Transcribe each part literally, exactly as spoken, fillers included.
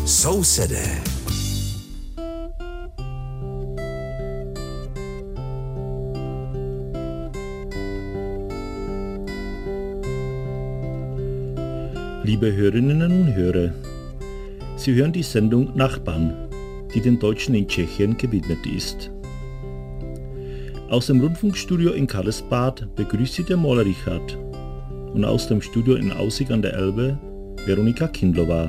Sousedé. Liebe Hörerinnen und Hörer, Sie hören die Sendung Nachbarn, die den Deutschen in Tschechien gewidmet ist. Aus dem Rundfunkstudio in Karlsbad begrüßt Sie der Maler Richard und aus dem Studio in Aussig an der Elbe Veronika Kindlova.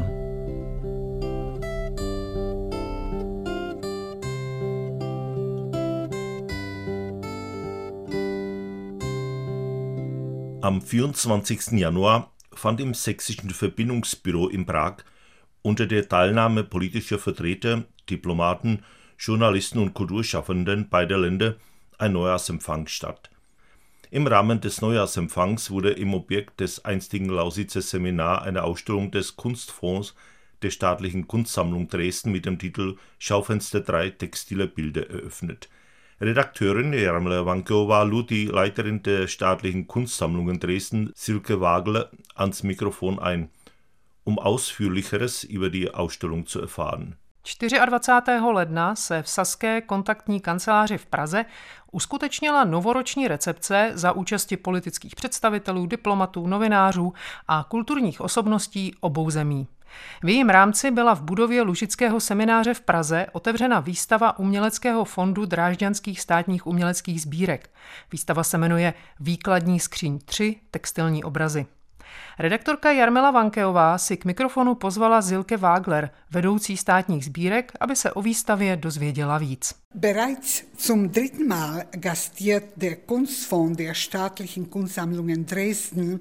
Am vierundzwanzigsten Januar fand im Sächsischen Verbindungsbüro in Prag unter der Teilnahme politischer Vertreter, Diplomaten, Journalisten und Kulturschaffenden beider Länder ein Neujahrsempfang statt. Im Rahmen des Neujahrsempfangs wurde im Objekt des einstigen Lausitzer Seminar eine Ausstellung des Kunstfonds der Staatlichen Kunstsammlung Dresden mit dem Titel Schaufenster drei textile Bilder eröffnet. Redakteurin Jarmila Vankeová lud die Leiterin der Staatlichen Kunstsammlungen Dresden, Silke Wagler, ans Mikrofon ein, um Ausführlicheres über die Ausstellung zu erfahren. dvacátého čtvrtého ledna se v Saské kontaktní kanceláři v Praze uskutečnila novoroční recepce za účasti politických představitelů, diplomatů, novinářů a kulturních osobností obou zemí. V jejím rámci byla v budově Lužického semináře v Praze otevřena výstava Uměleckého fondu Drážďanských státních uměleckých sbírek. Výstava se jmenuje Výkladní skříň tři textilní obrazy. Redaktorka Jarmila Vankeová si k mikrofonu pozvala Silke Wagler, vedoucí státních sbírek, aby se o výstavě dozvěděla víc. Bereits zum dritten Mal gastiert der Kunstfonds der Staatlichen Kunstsammlungen Dresden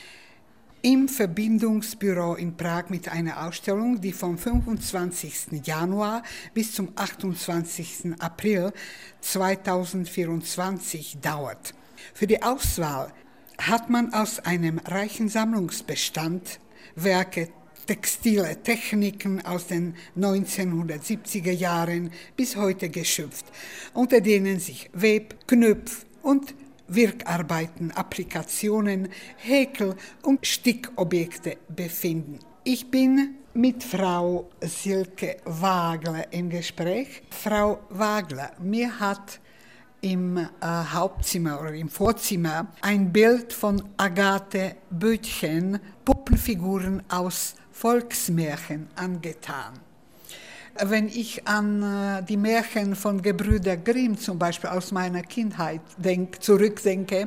im Verbindungsbüro in Prag mit einer Ausstellung, die vom fünfundzwanzigsten Januar bis zum achtundzwanzigsten April zweitausendvierundzwanzig dauert. Für die Auswahl hat man aus einem reichen Sammlungsbestand Werke, textile Techniken aus den neunzehnhundertsiebziger Jahren bis heute geschöpft, unter denen sich Web-, Knöpf- und Wirkarbeiten, Applikationen, Häkel- und Stickobjekte befinden. Ich bin mit Frau Silke Wagler im Gespräch. Frau Wagler, mir hat im äh, Hauptzimmer oder im Vorzimmer ein Bild von Agathe Böttchen, Puppenfiguren aus Volksmärchen, angetan. Wenn ich an äh, die Märchen von Gebrüder Grimm zum Beispiel aus meiner Kindheit denk, zurückdenke,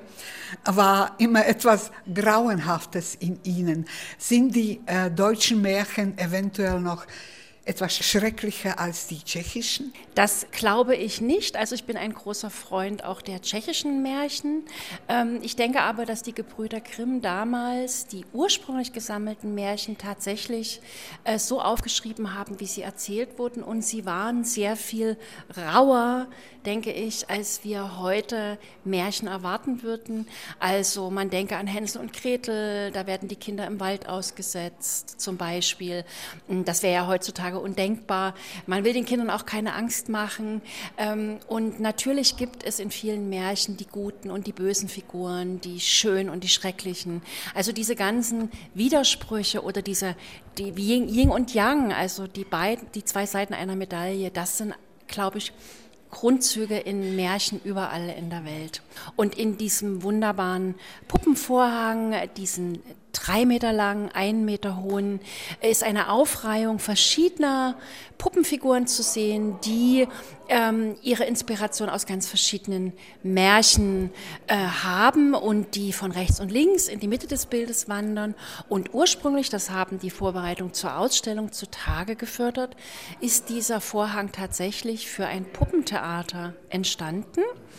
war immer etwas Grauenhaftes in ihnen. Sind die äh, deutschen Märchen eventuell noch etwas schrecklicher als die tschechischen? Das glaube ich nicht. Also ich bin ein großer Freund auch der tschechischen Märchen. Ich denke aber, dass die Gebrüder Grimm damals die ursprünglich gesammelten Märchen tatsächlich so aufgeschrieben haben, wie sie erzählt wurden. Und sie waren sehr viel rauer, denke ich, als wir heute Märchen erwarten würden. Also man denke an Hänsel und Gretel, da werden die Kinder im Wald ausgesetzt zum Beispiel. Das wäre ja heutzutage undenkbar. Man will den Kindern auch keine Angst machen. Und natürlich gibt es in vielen Märchen die guten und die bösen Figuren, die schönen und die schrecklichen. Also diese ganzen Widersprüche oder diese die Yin und Yang, also die beiden, die zwei Seiten einer Medaille, das sind, glaube ich, Grundzüge in Märchen überall in der Welt. Und in diesem wunderbaren Puppenvorhang, diesen drei Meter langen, einen Meter hohen, ist eine Aufreihung verschiedener Puppenfiguren zu sehen, die ähm, ihre Inspiration aus ganz verschiedenen Märchen äh, haben und die von rechts und links in die Mitte des Bildes wandern. Und ursprünglich, das haben die Vorbereitungen zur Ausstellung zutage gefördert, ist dieser Vorhang tatsächlich für ein Puppentheater entstanden.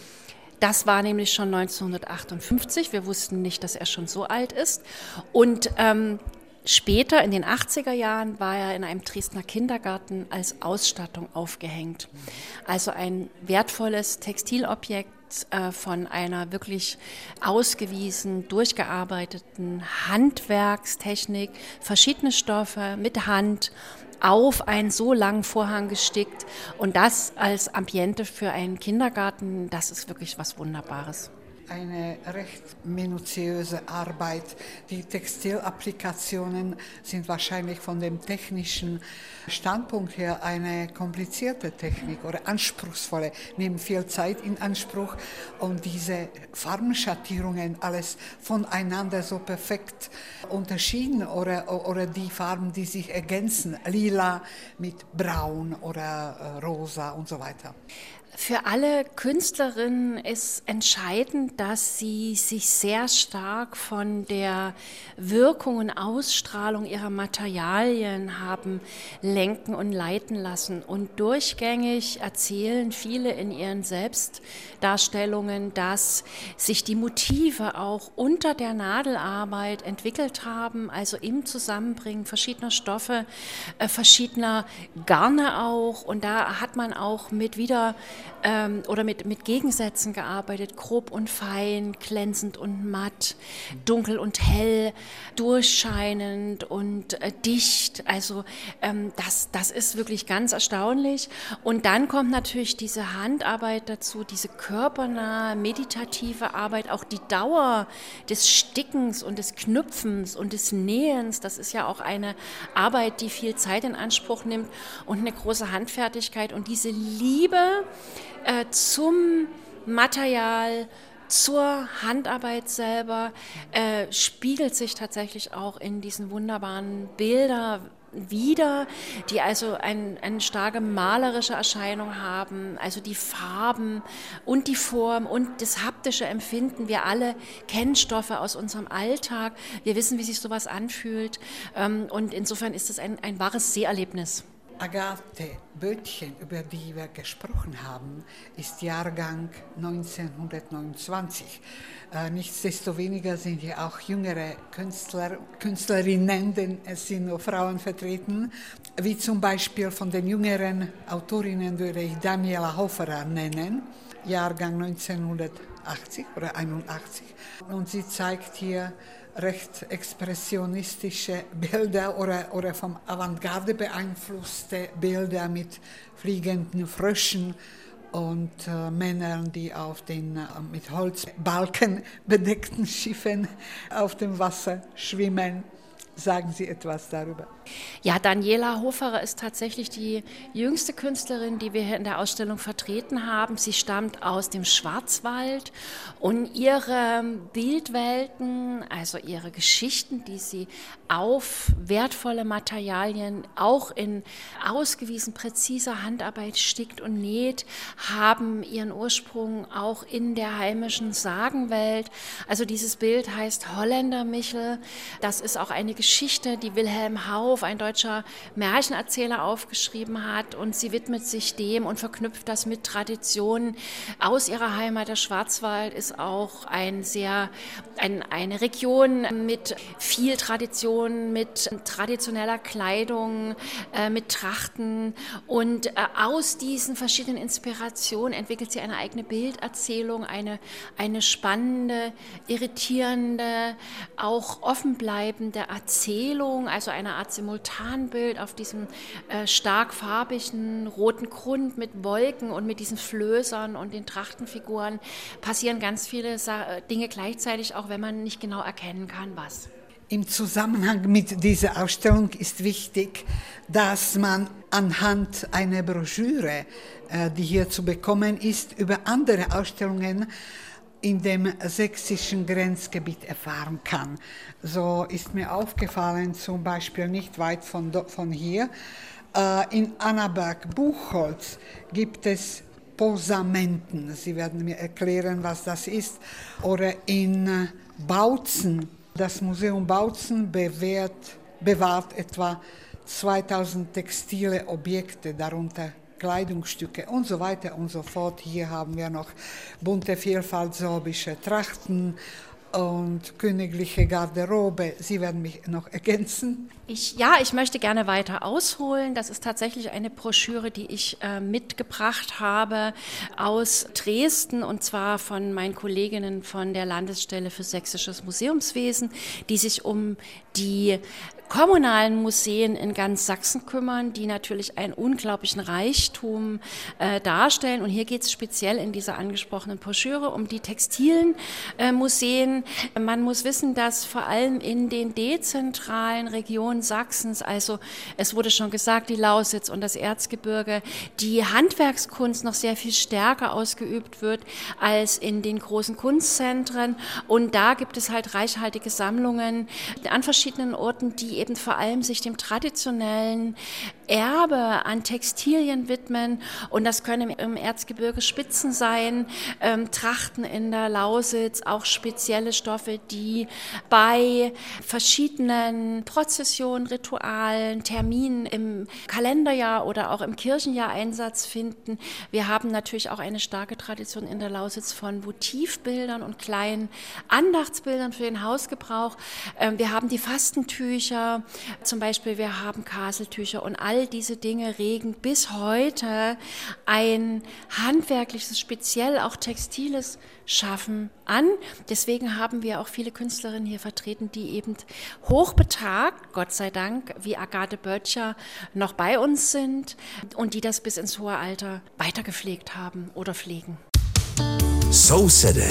Das war nämlich schon neunzehnhundertachtundfünfzig. Wir wussten nicht, dass er schon so alt ist. Und ähm, später, in den achtziger Jahren, war er in einem Dresdner Kindergarten als Ausstattung aufgehängt. Also ein wertvolles Textilobjekt äh, von einer wirklich ausgewiesen, durchgearbeiteten Handwerkstechnik, verschiedene Stoffe mit Hand, auf einen so langen Vorhang gestickt und das als Ambiente für einen Kindergarten, das ist wirklich was Wunderbares. eine recht minutiöse Arbeit. Die Textilapplikationen sind wahrscheinlich von dem technischen Standpunkt her eine komplizierte Technik oder anspruchsvolle, nehmen viel Zeit in Anspruch und diese Farbenschattierungen, alles voneinander so perfekt unterschieden oder, oder die Farben, die sich ergänzen, lila mit braun oder rosa und so weiter. Für alle Künstlerinnen ist entscheidend, dass sie sich sehr stark von der Wirkung und Ausstrahlung ihrer Materialien haben lenken und leiten lassen. Und durchgängig erzählen viele in ihren Selbstdarstellungen, dass sich die Motive auch unter der Nadelarbeit entwickelt haben, also im Zusammenbringen verschiedener Stoffe, äh, verschiedener Garne auch. Und da hat man auch mit wieder Ähm, oder mit, mit Gegensätzen gearbeitet, grob und fein, glänzend und matt, dunkel und hell, durchscheinend und äh, dicht. Also ähm, das, das ist wirklich ganz erstaunlich. Und dann kommt natürlich diese Handarbeit dazu, diese körpernahe, meditative Arbeit, auch die Dauer des Stickens und des Knüpfens und des Nähens. Das ist ja auch eine Arbeit, die viel Zeit in Anspruch nimmt und eine große Handfertigkeit. Und diese Liebe äh, zum Material, zur Handarbeit selber, äh, spiegelt sich tatsächlich auch in diesen wunderbaren Bildern wieder, die also ein, eine starke malerische Erscheinung haben, also die Farben und die Form und das haptische Empfinden. Wir alle kennen Stoffe aus unserem Alltag, wir wissen, wie sich sowas anfühlt, ähm, und insofern ist es ein, ein wahres Seherlebnis. Agathe Böttchen, über die wir gesprochen haben, ist Jahrgang neunzehnhundertneunundzwanzig. Äh, nichtsdestoweniger sind ja auch jüngere Künstler, Künstlerinnen, denn es sind nur Frauen vertreten, wie zum Beispiel von den jüngeren Autorinnen würde ich Daniela Hoferer nennen, Jahrgang neunzehnhundertachtzig oder einundachtzig. Und sie zeigt hier recht expressionistische Bilder oder, oder vom Avantgarde beeinflusste Bilder mit fliegenden Fröschen und äh, Männern, die auf den äh, mit Holzbalken bedeckten Schiffen auf dem Wasser schwimmen. Sagen Sie etwas darüber? Ja, Daniela Hoferer ist tatsächlich die jüngste Künstlerin, die wir hier in der Ausstellung vertreten haben. Sie stammt aus dem Schwarzwald und ihre Bildwelten, also ihre Geschichten, die sie auf wertvolle Materialien auch in ausgewiesen präziser Handarbeit stickt und näht, haben ihren Ursprung auch in der heimischen Sagenwelt. Also dieses Bild heißt Holländermichel. Das ist auch eine Geschichte, die Wilhelm Hauff, ein deutscher Märchenerzähler, aufgeschrieben hat, und sie widmet sich dem und verknüpft das mit Traditionen aus ihrer Heimat. Der Schwarzwald ist auch ein sehr, ein, eine Region mit viel Tradition, mit traditioneller Kleidung, äh, mit Trachten, und äh, aus diesen verschiedenen Inspirationen entwickelt sie eine eigene Bilderzählung, eine, eine spannende, irritierende, auch offenbleibende Erzählung, also eine Art Simultanbild auf diesem äh, stark farbigen roten Grund mit Wolken und mit diesen Flößern und den Trachtenfiguren passieren ganz viele Sa- Dinge gleichzeitig, auch wenn man nicht genau erkennen kann, was. Im Zusammenhang mit dieser Ausstellung ist wichtig, dass man anhand einer Broschüre, äh, die hier zu bekommen ist, über andere Ausstellungen in dem sächsischen Grenzgebiet erfahren kann. So ist mir aufgefallen, zum Beispiel nicht weit von, von hier, äh, in Annaberg-Buchholz gibt es Posamenten. Sie werden mir erklären, was das ist. Oder in Bautzen, das Museum Bautzen bewährt, bewahrt etwa zweitausend textile Objekte, darunter Kleidungsstücke und so weiter und so fort. Hier haben wir noch bunte Vielfalt sorbische Trachten und königliche Garderobe. Sie werden mich noch ergänzen. Ich, ja, ich möchte gerne weiter ausholen. Das ist tatsächlich eine Broschüre, die ich äh, mitgebracht habe aus Dresden, und zwar von meinen Kolleginnen von der Landesstelle für sächsisches Museumswesen, die sich um die kommunalen Museen in ganz Sachsen kümmern, die natürlich einen unglaublichen Reichtum äh, darstellen. Und hier geht es speziell in dieser angesprochenen Broschüre um die textilen äh, Museen. Man muss wissen, dass vor allem in den dezentralen Regionen Sachsens, also es wurde schon gesagt, die Lausitz und das Erzgebirge, die Handwerkskunst noch sehr viel stärker ausgeübt wird als in den großen Kunstzentren. Und da gibt es halt reichhaltige Sammlungen an verschiedenen Orten, die eben vor allem sich dem traditionellen Erbe an Textilien widmen. Und das können im Erzgebirge Spitzen sein, ähm, Trachten in der Lausitz, auch spezielle Stoffe, die bei verschiedenen Prozessionen, Ritualen, Terminen im Kalenderjahr oder auch im Kirchenjahr Einsatz finden. Wir haben natürlich auch eine starke Tradition in der Lausitz von Votivbildern und kleinen Andachtsbildern für den Hausgebrauch. Ähm, wir haben die Fastentücher, zum Beispiel wir haben Kaseltücher, und all diese Dinge regen bis heute ein handwerkliches, speziell auch textiles Schaffen an. Deswegen haben wir auch viele Künstlerinnen hier vertreten, die eben hochbetagt, Gott sei Dank, wie Agathe Böttcher, noch bei uns sind und die das bis ins hohe Alter weitergepflegt haben oder pflegen. So City.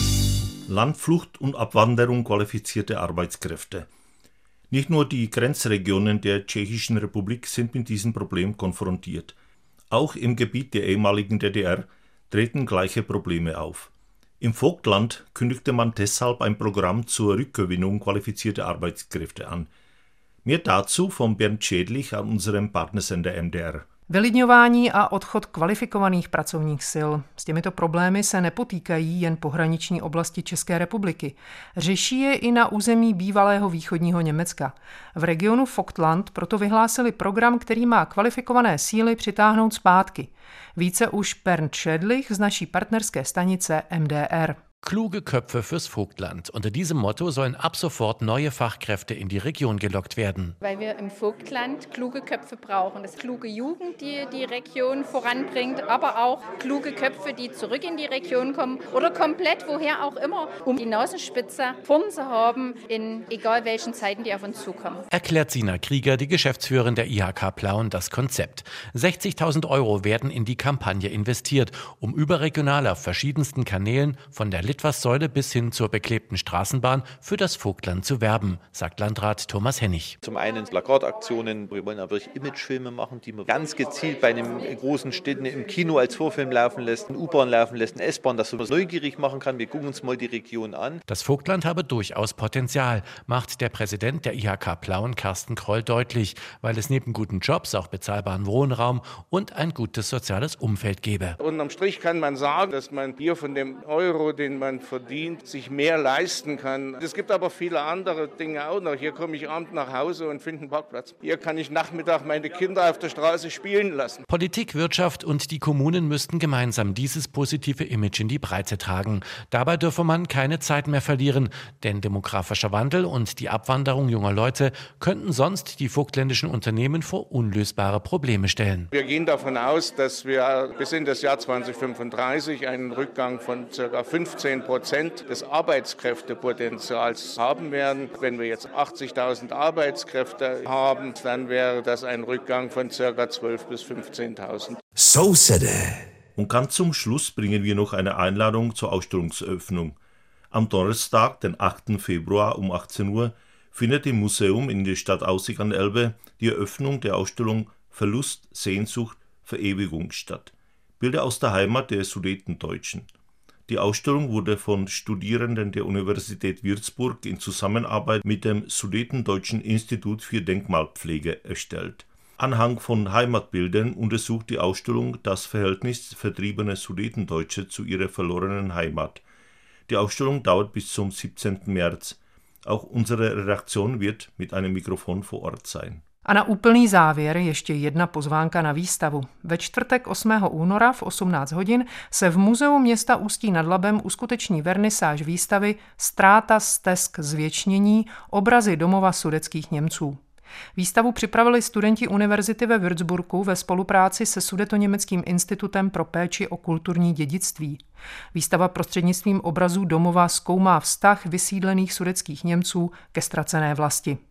Landflucht und Abwanderung qualifizierte Arbeitskräfte. Nicht nur die Grenzregionen der Tschechischen Republik sind mit diesem Problem konfrontiert. Auch im Gebiet der ehemaligen D D R treten gleiche Probleme auf. Im Vogtland kündigte man deshalb ein Programm zur Rückgewinnung qualifizierter Arbeitskräfte an. Mehr dazu von Bernd Schädlich an unserem Partnersender M D R. Vylidňování a odchod kvalifikovaných pracovních sil. S těmito problémy se nepotýkají jen pohraniční oblasti České republiky. Řeší je i na území bývalého východního Německa. V regionu Vogtland proto vyhlásili program, který má kvalifikované síly přitáhnout zpátky. Více už Bernd Schädlich z naší partnerské stanice M D R. Kluge Köpfe fürs Vogtland. Unter diesem Motto sollen ab sofort neue Fachkräfte in die Region gelockt werden. Weil wir im Vogtland kluge Köpfe brauchen. Das ist kluge Jugend, die die Region voranbringt, aber auch kluge Köpfe, die zurück in die Region kommen oder komplett woher auch immer, um die Nasenspitze vorn zu haben, in egal welchen Zeiten, die auf uns zukommen. Erklärt Sina Krieger, die Geschäftsführerin der I H K Plauen, das Konzept. sechzigtausend Euro werden in die Kampagne investiert, um überregional auf verschiedensten Kanälen von der Litfaßsäule bis hin zur beklebten Straßenbahn für das Vogtland zu werben, sagt Landrat Thomas Hennig. Zum einen Plakataktionen, wir wollen aber wirklich Imagefilme machen, die man ganz gezielt bei einem großen Städten im Kino als Vorfilm laufen lässt, eine U-Bahn laufen lässt, eine S-Bahn, dass man neugierig machen kann. Wir gucken uns mal die Region an. Das Vogtland habe durchaus Potenzial, macht der Präsident der I H K Plauen, Carsten Kroll, deutlich, weil es neben guten Jobs auch bezahlbaren Wohnraum und ein gutes soziales Umfeld gebe. Unterm Strich kann man sagen, dass man hier von dem Euro, den man verdient, sich mehr leisten kann. Es gibt aber viele andere Dinge auch noch. Hier komme ich abends nach Hause und finde einen Parkplatz. Hier kann ich Nachmittag meine Kinder auf der Straße spielen lassen. Politik, Wirtschaft und die Kommunen müssten gemeinsam dieses positive Image in die Breite tragen. Dabei dürfe man keine Zeit mehr verlieren, denn demografischer Wandel und die Abwanderung junger Leute könnten sonst die vogtländischen Unternehmen vor unlösbare Probleme stellen. Wir gehen davon aus, dass wir bis in das Jahr zweitausendfünfunddreißig einen Rückgang von ca. fünfzehn Prozent des Arbeitskräftepotenzials haben werden. Wenn wir jetzt achtzigtausend Arbeitskräfte haben, dann wäre das ein Rückgang von ca. zwölftausend bis fünfzehntausend. So City. Und ganz zum Schluss bringen wir noch eine Einladung zur Ausstellungseröffnung. Am Donnerstag, den achten Februar um achtzehn Uhr, findet im Museum in der Stadt Aussig an der Elbe die Eröffnung der Ausstellung Verlust, Sehnsucht, Verewigung statt. Bilder aus der Heimat der Sudetendeutschen. Die Ausstellung wurde von Studierenden der Universität Würzburg in Zusammenarbeit mit dem Sudetendeutschen Institut für Denkmalpflege erstellt. Anhand von Heimatbildern untersucht die Ausstellung das Verhältnis vertriebener Sudetendeutsche zu ihrer verlorenen Heimat. Die Ausstellung dauert bis zum siebzehnten März. Auch unsere Redaktion wird mit einem Mikrofon vor Ort sein. A na úplný závěr ještě jedna pozvánka na výstavu. Ve čtvrtek osmého února v osmnáct hodin se v Muzeu města Ústí nad Labem uskuteční vernisáž výstavy Ztráta stesk zvěčnění obrazy domova sudetských Němců. Výstavu připravili studenti univerzity ve Würzburgu ve spolupráci se Sudetoněmeckým institutem pro péči o kulturní dědictví. Výstava prostřednictvím obrazů domova zkoumá vztah vysídlených sudetských Němců ke ztracené vlasti.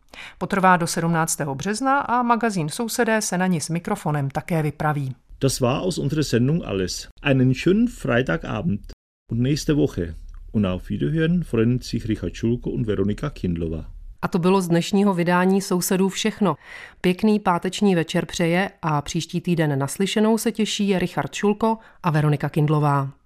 Potrvá do sedmnáctého března a magazín Sousedé se na ní s mikrofonem také vypraví. Das war aus unserer Sendung alles. Einen schönen Freitagabend und nächste Woche. Und auf Wiederhören freuen sich Richard Schulko und Veronika Kindlová. A to bylo z dnešního vydání Sousedů všechno. Pěkný páteční večer přeje a příští týden naslyšenou se těší Richard Šulko a Veronika Kindlová.